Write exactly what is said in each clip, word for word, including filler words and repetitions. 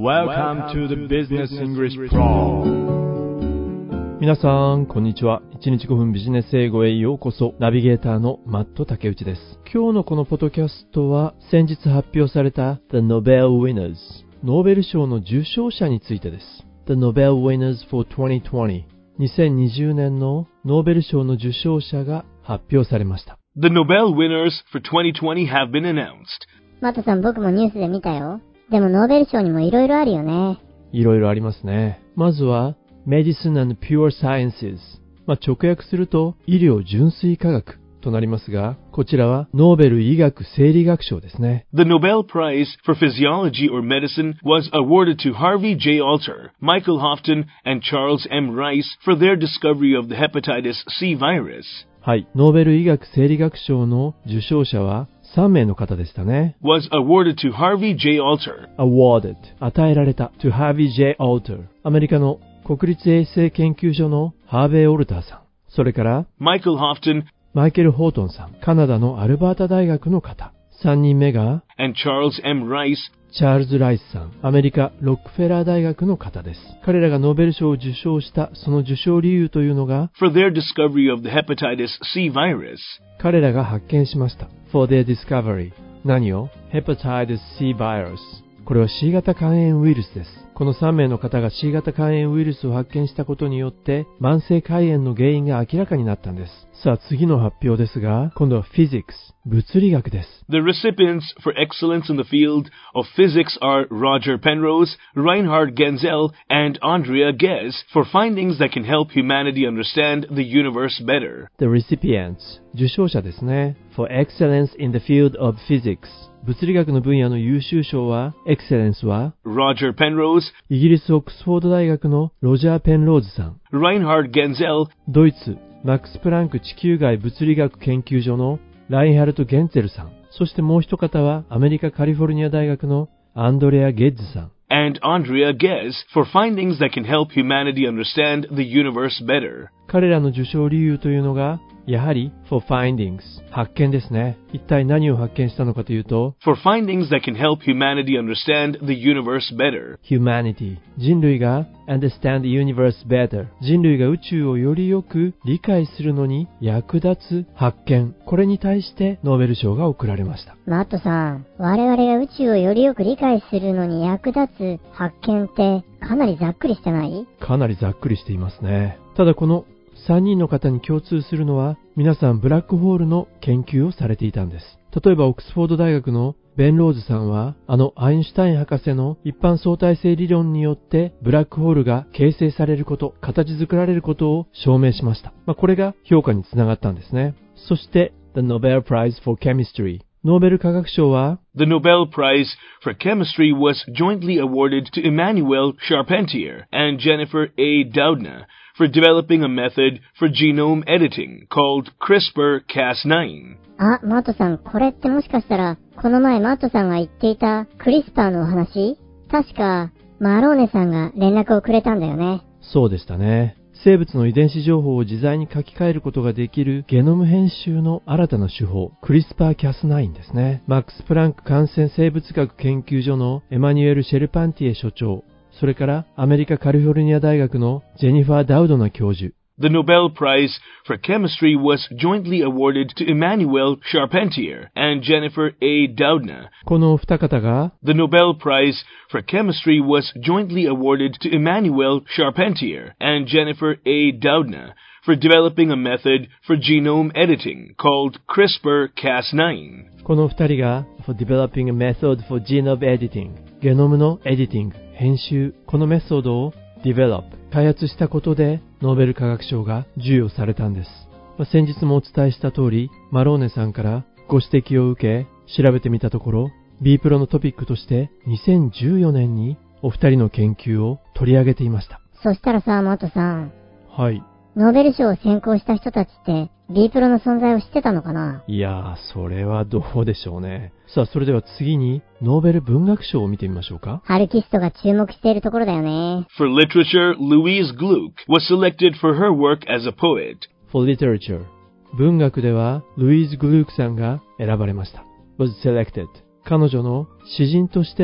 Welcome to the Business English Pro。 皆さんこんにちは。いちにちごふんビジネス英語へようこそ。ナビゲーターのマット竹内です。今日のこのポッドキャストは先日発表された The Nobel Winners ノーベル賞の受賞者についてです。 The Nobel Winners for にせんにじゅう にせんにじゅうねんのノーベル賞の受賞者が発表されました。 The Nobel winners for にせんにじゅう have been announced。 マットさん、僕もニュースで見たよ。でもノーベル賞にもいろいろあるよね。 いろいろありますね。まずは Medicine and Pure Sciences、まあ、直訳すると医療純粋科学となりますが、こちらはノーベル医学生理学賞ですね。 The Nobel Prize for Physiology or Medicine was awarded to Harvey J. Alter, Michael Houghton, and Charles M. Rice for their discovery of the hepatitis C virus。 はい、ノーベル医学生理学賞の受賞者はさんめいの方でしたね。 was awarded to Harvey J. Alter。 awarded 与えられた to Harvey J. Alter、 アメリカの国立衛生研究所のハーベイ・オルターさん、それから Michael Houghton、 マイケル・ホートンさん、カナダのアルバータ大学の方。さんにんめが and Charles M. Rice、 チャールズ・ライスさん、アメリカロックフェラー大学の方です。彼らがノーベル賞を受賞したその受賞理由というのが for their discovery of the hepatitis C virus。 彼らが発見しました。 for their discovery、 何を hepatitis C virus、 これは C 型肝炎ウイルスです。このさんめいの方が C 型肝炎ウイルスを発見したことによって慢性肝炎の原因が明らかになったんです。さあ次の発表ですが、今度は Physics、 物理学です。 The recipients for excellence in the field of physics are Roger Penrose, Reinhard Genzel, and Andrea Ghez for findings that can help humanity understand the universe better. The recipients、 受賞者ですね。 For excellence in the field of physics、 物理学の分野の優秀賞は Excellence は Roger Penrose、 イギリスオックスフォード大学のロジャー・ペンローズさん、 Reinhard Genzel、 ドイツマックス・プランク地球外物理学研究所のラインハルト・ゲンツェルさん、そしてもう一方はアメリカカリフォルニア大学のアンドレア・ゲッズさん、 and Andrea Ghez for findings that can help humanity understand the universe better。 彼らの受賞理由というのがやはり for findings、 発見ですね。一体何を発見したのかというと for findings that can help humanity understand the universe better。 humanity、 人類が understand the universe better、 人類が宇宙をよりよく理解するのに役立つ発見、これに対してノーベル賞が贈られました。 マットさん、我々が宇宙をよりよく理解するのに役立つ発見ってかなりざっくりしてない？ かなりざっくりしていますね。ただこのさんにんの方に共通するのは、皆さんブラックホールの研究をされていたんです。例えばオックスフォード大学のベン・ローズさんは、あのアインシュタイン博士の一般相対性理論によってブラックホールが形成されること、形作られることを証明しました。まあ、これが評価につながったんですね。そして The Nobel Prize for Chemistry、 ノーベル化学賞は The Nobel Prize for Chemistry was jointly awarded to Emmanuel Charpentier and Jennifer A. Doudna for developing a method for genome editing called CRISPR Cas ナイン。 あ、マットさん、これってもしかしたらこの前マットさんが言っていたクリスパーのお話？確かマローネさんが連絡をくれたんだよね。 そうでしたね。生物の遺伝子情報を自在に書き換えることができるゲノム編集の新たな手法、クリスパーキャスナインですね。マックス・プランク感染生物学研究所のエマニュエル・シェルパンティエ所長、それからアメリカカリフォルニア大学のジェニファー・ダウドナ教授。 The Nobel Prize for Chemistry was jointly awarded to Emmanuel Charpentier and Jennifer A. Doudna。 このお二方が The Nobel Prize for Chemistry was jointly awarded to Emmanuel Charpentier and Jennifer A. Doudna for developing a method for genome editing called CRISPR Cas ナイン。 この二人が for developing a method for genome editing、 ゲノムのエディティング、編集、このメソッドを develop、 開発したことでノーベル化学賞が授与されたんです。まあ、先日もお伝えした通り、マローネさんからご指摘を受け調べてみたところ、 B プロのトピックとしてにせんじゅうよねんにお二人の研究を取り上げていました。 そしたらさ、マットさん、 はい、 ノーベル賞を選考した人たちって B プロの存在を知ってたのかな？ いやー、それはどうでしょうね。さあ、それでは次にノーベル文学賞を見てみましょうか。 ハルキストが注目しているところだよね。 For literature, Louise Gluck was selected for her work as a poet。 For literature、 文学ではルイーズ・グルークさんが選ばれました。was selected、 彼女の詩人としての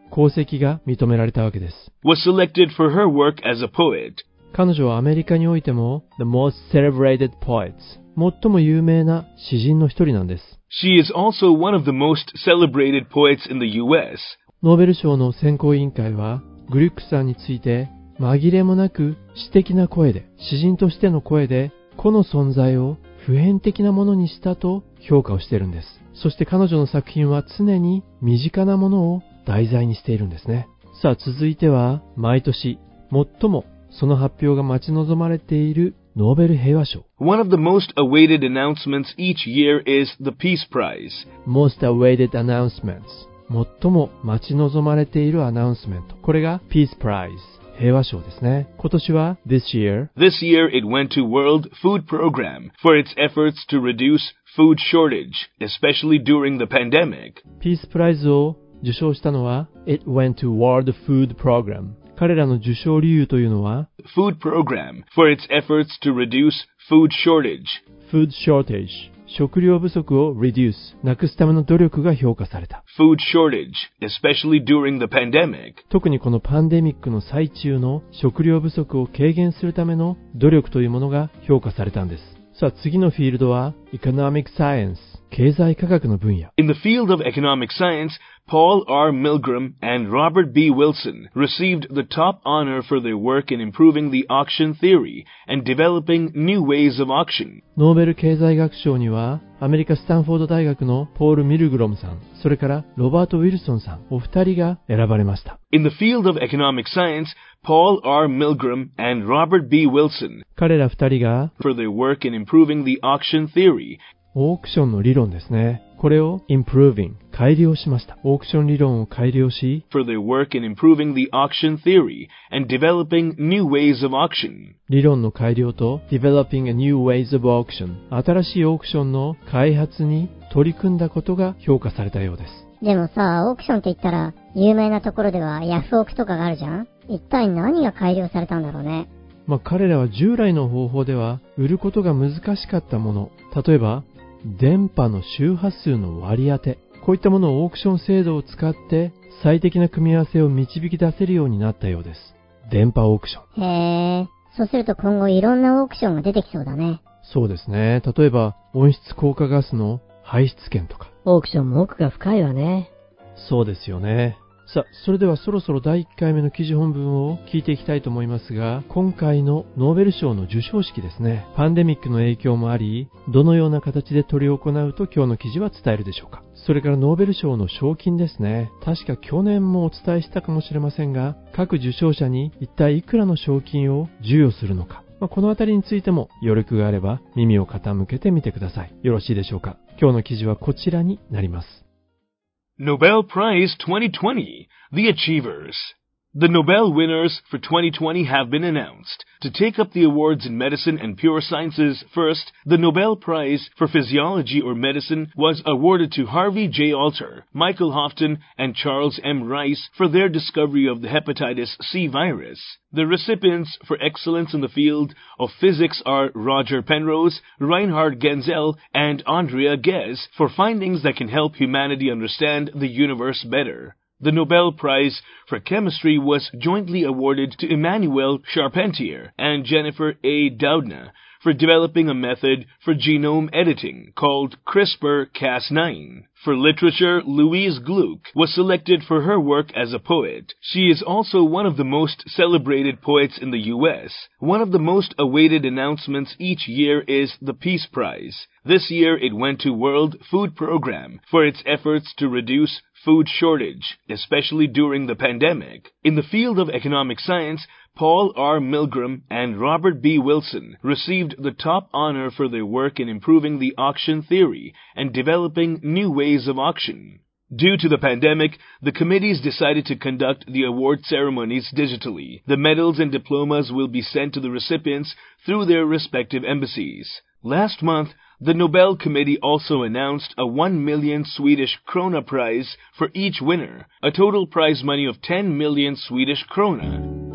功績が認められたわけです。 was selected for her work as a poet. 彼女はアメリカにおいても The most celebrated poets 最も有名な詩人の一人なんです。 She is also one of the most celebrated poets in the U S. ノーベル賞の選考委員会はグリュックさんについて紛れもなく詩的な声で、詩人としての声で個の存在を普遍的なものにしたと評価をしているんです。そして彼女の作品は常に身近なものを題材にしているんですね。さあ続いては毎年最もその発表が待ち望まれているノーベル平和賞。 One of the most awaited announcements each year is the Peace Prize. Most awaited announcements 最も待ち望まれているアナウンスメント。これが Peace Prize 平和賞ですね。今年は This year This year it went to World Food Program for its efforts to reduce food shortage, especially during the pandemic. Peace Prize を受賞したのは It went to World Food Program。彼らの受賞理由というのは Food Program for its efforts to reduce food shortage. Food shortage 食料不足を reduce なくすための努力が評価された。 Food shortage, especially during the pandemic. 特にこのパンデミックの最中の食料不足を軽減するための努力というものが評価されたんです。さあ次のフィールドは Economic Science 経済科学の分野。 In the field of economic science, Paul R. Milgram and Robert B. Wilson received the top honor for their work in improving the auction theory and developing new ways of auction. ノーベル経済学賞にはアメリカスタンフォード大学のポール・ミルグロムさん、それからロバート・ウィルソンさん、お二人が選ばれました。 In the field of economic science, Paul R. Milgram and Robert B. Wilson 彼ら二人が for their work in improving the auction theory. オークションの理論ですね。これを improving 改良しました。オークション理論を改良し for their work in improving the auction theory and developing new ways of auction. 理論の改良と developing a new ways of auction 新しいオークションの開発に取り組んだことが評価されたようです。 でもさ、オークションって言ったら有名なところではヤフオクとかがあるじゃん。一体何が改良されたんだろうね。 まあ彼らは従来の方法では売ることが難しかったもの、例えば電波の周波数の割り当て、こういったものをオークション制度を使って最適な組み合わせを導き出せるようになったようです。電波オークション。 へー、そうすると今後いろんなオークションが出てきそうだね。 そうですね。例えば温室効果ガスの排出権とか。 オークションも奥が深いわね。 そうですよね。さあ、それではそろそろだいいっかいめの記事本文を聞いていきたいと思いますが、今回のノーベル賞の授賞式ですね。パンデミックの影響もあり、どのような形で執り行うと今日の記事は伝えるでしょうか。それからノーベル賞の賞金ですね。確か去年もお伝えしたかもしれませんが、各受賞者に一体いくらの賞金を授与するのか。まあ、このあたりについても余力があれば耳を傾けてみてください。よろしいでしょうか。今日の記事はこちらになります。 Nobel Prize twenty twenty, The Achievers. The Nobel winners for twenty twenty have been announced. To take up the awards in medicine and pure sciences, first, the Nobel Prize for Physiology or Medicine was awarded to Harvey J. Alter, Michael Houghton, and Charles M. Rice for their discovery of the hepatitis C virus. The recipients for excellence in the field of physics are Roger Penrose, Reinhard Genzel, and Andrea Ghez for findings that can help humanity understand the universe better. The Nobel Prize for Chemistry was jointly awarded to Emmanuel Charpentier and Jennifer A. Doudna for developing a method for genome editing called CRISPR Cas nine. For literature, Louise Gluck was selected for her work as a poet. She is also one of the most celebrated poets in the U S. One of the most awaited announcements each year is the Peace Prize. This year it went to World Food Program for its efforts to reduce food shortage, especially during the pandemic. In the field of economic science, Paul R. Milgram and Robert B. Wilson received the top honor for their work in improving the auction theory and developing new ways of auction. Due to the pandemic, the committees decided to conduct the award ceremonies digitally. The medals and diplomas will be sent to the recipients through their respective embassies. Last month, the Nobel Committee also announced a one million Swedish krona prize for each winner, a total prize money of ten million Swedish krona.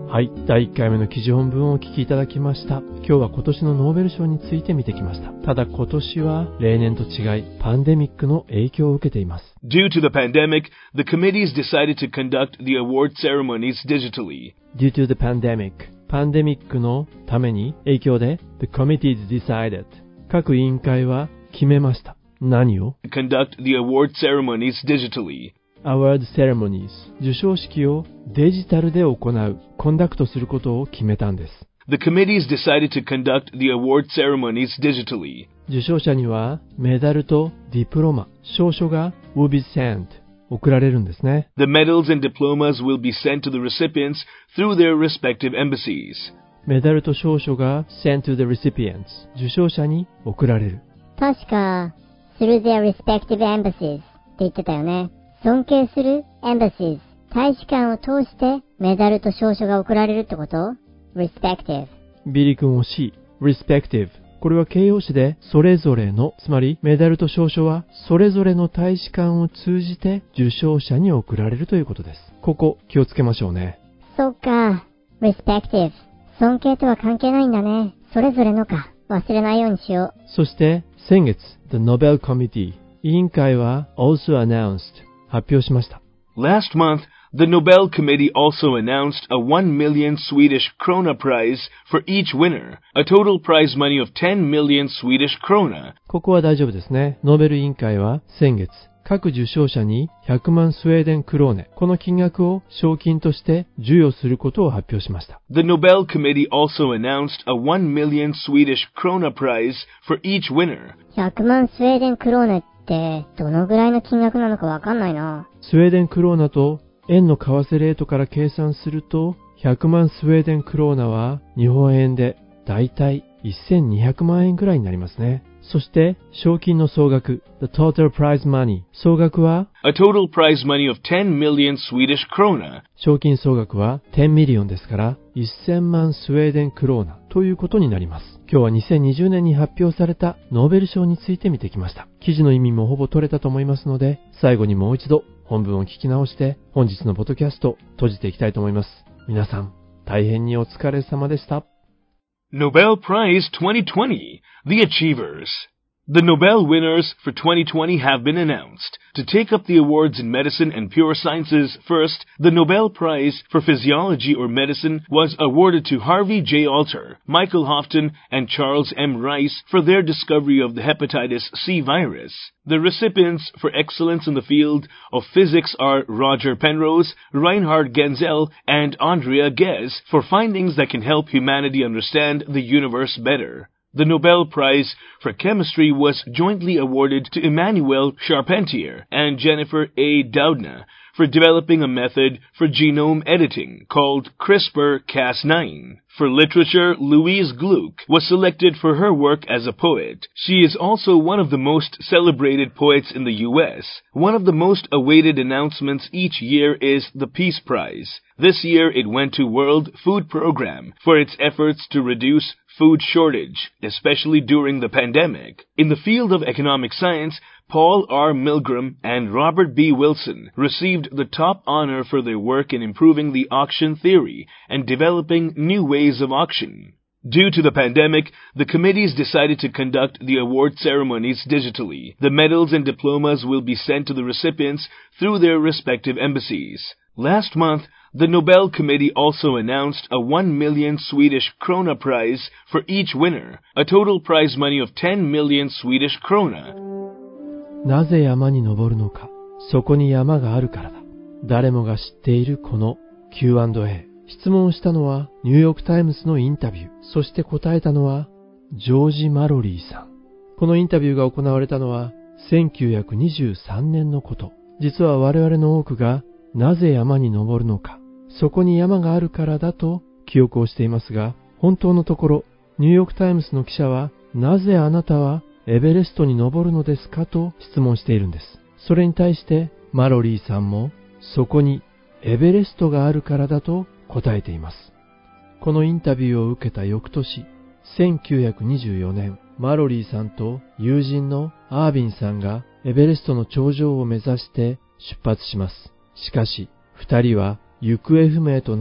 はい、だいいっかいめの記事本文をお聞きいただきました。今日は今年のノーベル賞について見てきました。ただ今年は例年と違いパンデミックの影響を受けています。 Due to the pandemic, the committees decided to conduct the award ceremonies digitally. Due to the pandemic, パンデミックのために影響で The committees decided 各委員会は決めました。何を Conduct the award ceremonies digitally.Award ceremonies 授賞式をデジタルで行う、コンダクトすることを決めたんです。 The committees decided to conduct the award ceremonies digitally. 受賞者にはメダルとディプロマ、証書が will be sent 送られるんですね。 The medals and diplomas will be sent to the recipients through their respective embassies. メダルと証書が sent to the recipients 受賞者に送られる。 確か through their respective embassies って言ってたよね。尊敬する embassies 大使館を通してメダルと証書が贈られるってこと respective ビリ君惜しい respective これは形容詞でそれぞれの、つまりメダルと証書はそれぞれの大使館を通じて受賞者に贈られるということです。ここ気をつけましょうね。 そっか respective 尊敬とは関係ないんだね。それぞれのか忘れないようにしよう。 そして先月 The Nobel Committee 委員会は also announced発表しました。 Last month, the Nobel Committee also announced a one million Swedish krona prize for each winner, a total prize money of ten million Swedish krona. ここは大丈夫ですね。ノーベル委員会は先月、各受賞者にひゃくまんスウェーデンクローネ、この金額を賞金として授与することを発表しました。 The Nobel Committee also announced a one million Swedish krona prize for each winner. ひゃくまんスウェーデンクローネってどのぐらいの金額なのかわかんないな。 スウェーデンクローナと円の為替レートから計算するとひゃくまんスウェーデンクローナは日本円でだいたいせんにひゃくまんえんくらいになりますね。そして賞金の総額 The total prize money 総額は A total prize money of ten million Swedish krona 賞金総額はじゅうミリオンですからせんまんスウェーデンクローナということになります。今日はにせんにじゅうねんに発表されたノーベル賞について見てきました。記事の意味もほぼ取れたと思いますので最後にもう一度本文を聞き直して本日のポッドキャスト閉じていきたいと思います。皆さん大変にお疲れ様でした。 Nobel Prize twenty twenty, The Achievers. The Nobel winners for twenty twenty have been announced. To take up the awards in medicine and pure sciences, first, the Nobel Prize for Physiology or Medicine was awarded to Harvey J. Alter, Michael Houghton, and Charles M. Rice for their discovery of the hepatitis C virus. The recipients for excellence in the field of physics are Roger Penrose, Reinhard Genzel, and Andrea Ghez for findings that can help humanity understand the universe better. The Nobel Prize for Chemistry was jointly awarded to Emmanuel Charpentier and Jennifer A. Doudna for developing a method for genome editing called CRISPR Cas nine. For literature, Louise Gluck was selected for her work as a poet. She is also one of the most celebrated poets in the U S. One of the most awaited announcements each year is the Peace Prize. This year it went to World Food Program for its efforts to reduce food shortage, especially during the pandemic. In the field of economic science, Paul R. Milgram and Robert B. Wilson received the top honor for their work in improving the auction theory and developing new ways of auction. Due to the pandemic, the committees decided to conduct the award ceremonies digitally. The medals and diplomas will be sent to the recipients through their respective embassies. Last month, the Nobel Committee also announced a one million Swedish krona prize for each winner, a total prize money of ten million Swedish krona. なぜ山に登るのか。そこに山があるからだ。誰もが知っているこの キューアンドエー。質問したのはニューヨークタイムズのインタビュー。そして答えたのはジョージ・マロリーさん。このインタビューが行われたのはせんきゅうひゃくにじゅうさんねんのこと。実は我々の多くがなぜ山に登るのか。そこに山があるからだと記憶をしていますが、本当のところニューヨークタイムズの記者はなぜあなたはエベレストに登るのですかと質問しているんです。それに対してマロリーさんもそこにエベレストがあるからだと答えています。このインタビューを受けた翌年、せんきゅうひゃくにじゅうよねん、マロリーさんと友人のアービンさんがエベレストの頂上を目指して出発します。しかし、二人は行方不明となり、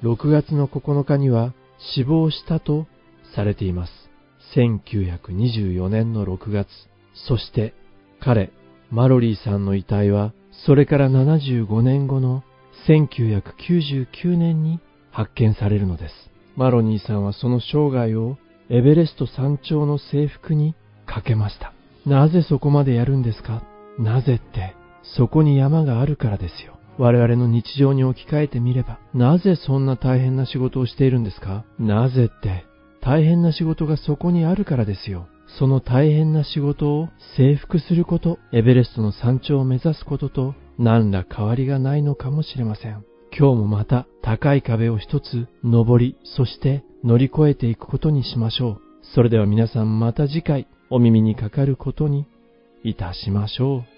ろくがつのここのかには死亡したとされています。せんきゅうひゃくにじゅうよねんのろくがつ、そして彼、マロリーさんの遺体はそれからななじゅうごねんごのせんきゅうひゃくきゅうじゅうきゅうねんに発見されるのです。マロニーさんはその生涯をエベレスト山頂の征服にかけました。なぜそこまでやるんですか？なぜって、そこに山があるからですよ。我々の日常に置き換えてみれば、なぜそんな大変な仕事をしているんですか？なぜって、大変な仕事がそこにあるからですよ。その大変な仕事を征服すること、エベレストの山頂を目指すことと何ら変わりがないのかもしれません。今日もまた高い壁を一つ登り、そして乗り越えていくことにしましょう。それでは皆さんまた次回お耳にかかることにいたしましょう。